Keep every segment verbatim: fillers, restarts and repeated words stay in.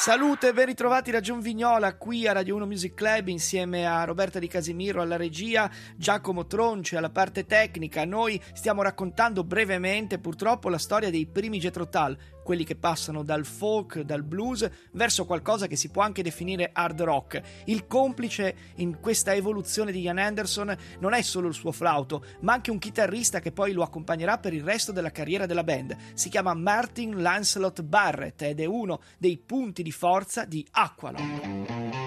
Salute e ben ritrovati da John Vignola qui a Radio uno Music Club insieme a Roberta Di Casimiro alla regia, Giacomo Tronci alla parte tecnica. Noi stiamo raccontando brevemente purtroppo la storia dei primi Jethro Tull, quelli che passano dal folk, dal blues verso qualcosa che si può anche definire hard rock. Il complice in questa evoluzione di Ian Anderson non è solo il suo flauto, ma anche un chitarrista che poi lo accompagnerà per il resto della carriera della band. Si chiama Martin Lancelot Barrett ed è uno dei punti di forza di Aqualung.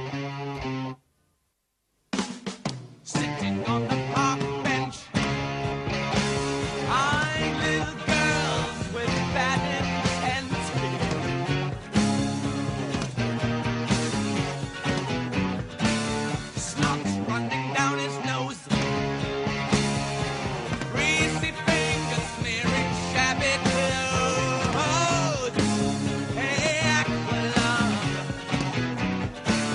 Sitting on the park bench, eyeing little girls with batted heads. Snot running down his nose, greasy fingers smearing shabby clothes. Hey, Aqualung,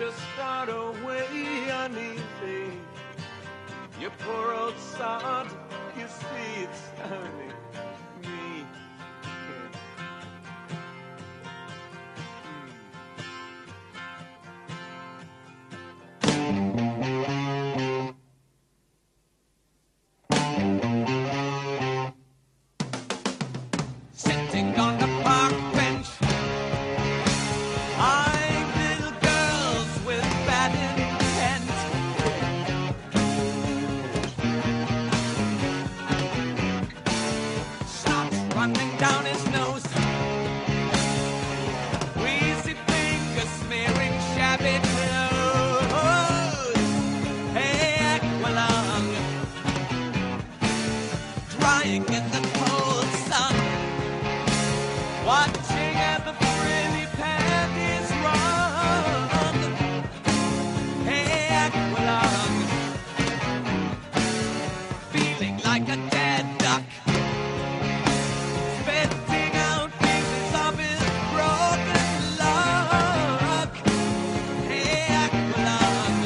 to start away uneasy. You poor old sod, you see it's only me. Sitting on the park bench, eyeing little girls with bad intent. Snot running down his nose, greasy fingers smearing shabby clothes. Hey, Aqualung, drying in the cold sun, watching as the frilly panties run. Hey, Aqualung, feeling like a dead duck, spitting out pieces of his broken luck. Hey, Aqualung,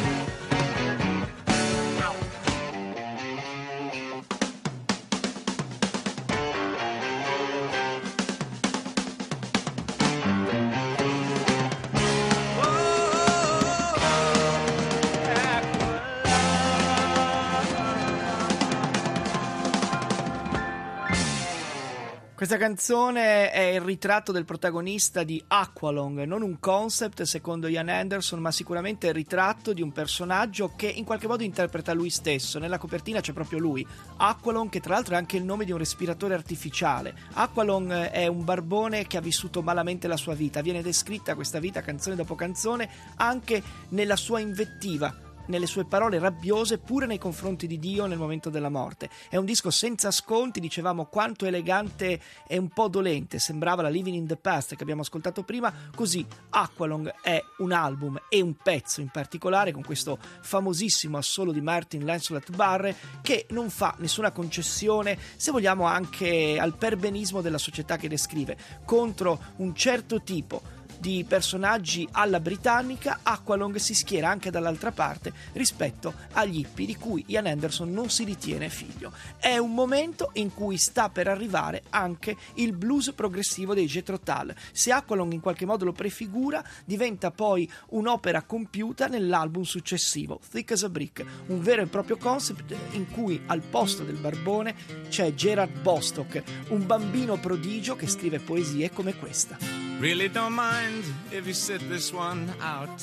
Questa canzone è il ritratto del protagonista di Aqualung, non un concept secondo Ian Anderson, ma sicuramente il ritratto di un personaggio che in qualche modo interpreta lui stesso. Nella copertina c'è proprio lui, Aqualung, che tra l'altro è anche il nome di un respiratore artificiale. Aqualung è un barbone che ha vissuto malamente la sua vita, viene descritta questa vita canzone dopo canzone anche nella sua invettiva, nelle sue parole rabbiose pure nei confronti di Dio nel momento della morte. È un disco senza sconti, dicevamo quanto elegante e un po' dolente sembrava la Living in the Past che abbiamo ascoltato prima. Così Aqualung è un album e un pezzo in particolare, con questo famosissimo assolo di Martin Lancelot Barre, che non fa nessuna concessione, se vogliamo, anche al perbenismo della società che descrive, contro un certo tipo di personaggi alla britannica. Aqualung si schiera anche dall'altra parte rispetto agli hippie di cui Ian Anderson non si ritiene figlio. È un momento in cui sta per arrivare anche il blues progressivo dei Jethro Tull. Se Aqualung in qualche modo lo prefigura, diventa poi un'opera compiuta nell'album successivo, Thick as a Brick, un vero e proprio concept in cui al posto del barbone c'è Gerard Bostock, un bambino prodigio che scrive poesie come questa. Really don't mind if you sit this one out.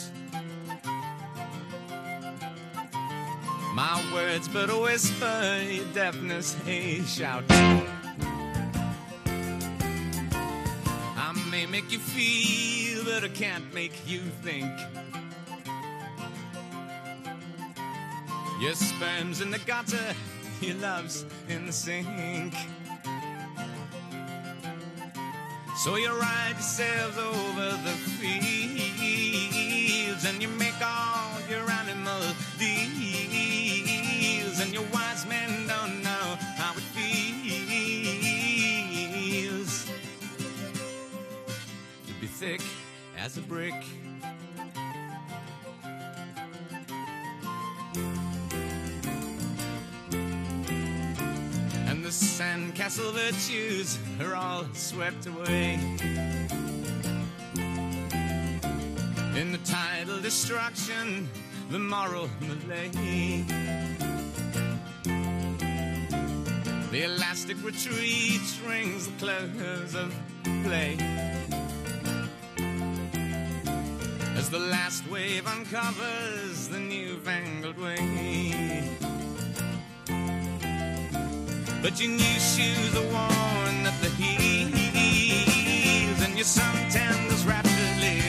My words but a whisper, your deafness a shout. I may make you feel, but I can't make you think. Your sperm's in the gutter, your love's in the sink. So you ride yourselves over the fields, and you make all your animal deals, and your wise men don't know how it feels to be thick as a brick. And the sandcastle virtues are all swept away in the tidal destruction, the moral malay. The elastic retreat rings the close of play as the last wave uncovers the newfangled way. But your new shoes are worn at the heels, and your suntans rapidly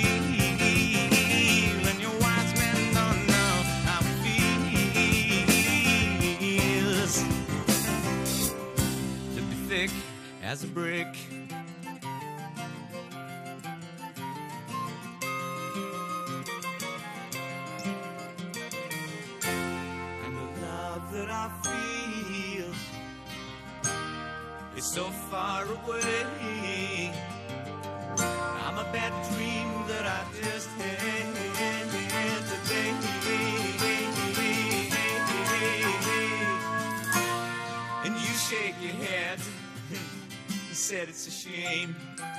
peel, and your wise men don't know how it feels to be thick as a brick. And the love that I feel is so far away. I'm a bad dream that I just had. You shake your head. You said it's a shame.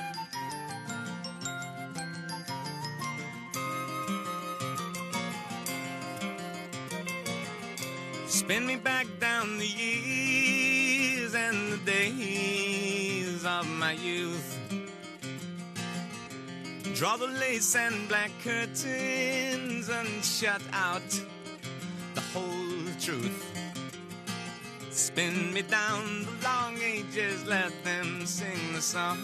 Spin me back down the years and the days of my youth. Draw the lace and black curtains and shut out the whole truth. Spin me down the long ages, let them sing the song.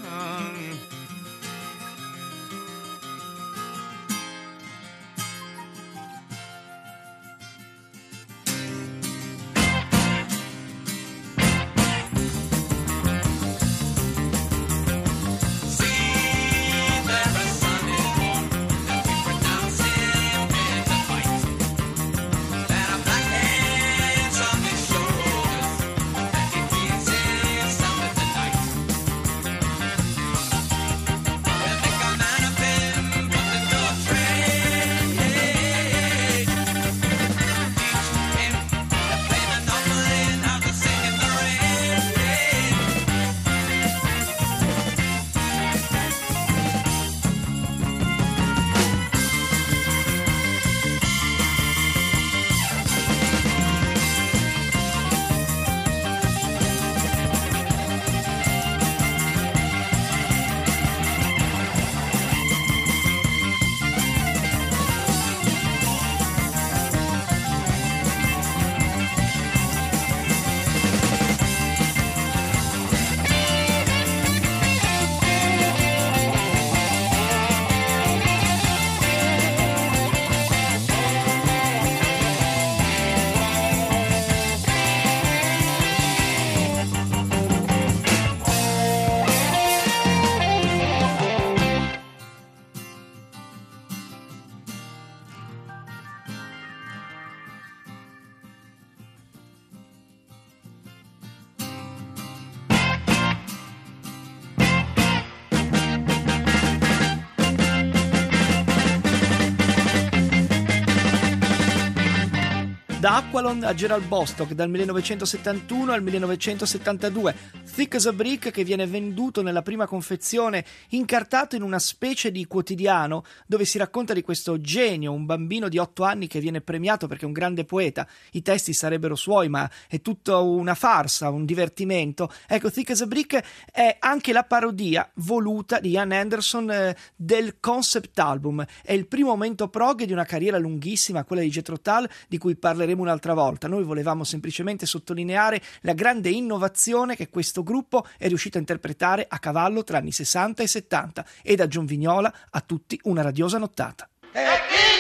Da Aqualon a Gerald Bostock, dal millenovecentosettantuno al millenovecentosettantadue, Thick as a Brick, che viene venduto nella prima confezione incartato in una specie di quotidiano dove si racconta di questo genio, un bambino di otto anni che viene premiato perché è un grande poeta. I testi sarebbero suoi, ma è tutta una farsa, un divertimento. Ecco, Thick as a Brick è anche la parodia voluta di Ian Anderson eh, del concept album. È il primo momento prog di una carriera lunghissima, quella di Jethro Tull, di cui parleremo un'altra volta. Noi volevamo semplicemente sottolineare la grande innovazione che questo gruppo è riuscito a interpretare a cavallo tra anni sessanta e settanta, e da John Vignola a tutti una radiosa nottata. Hey,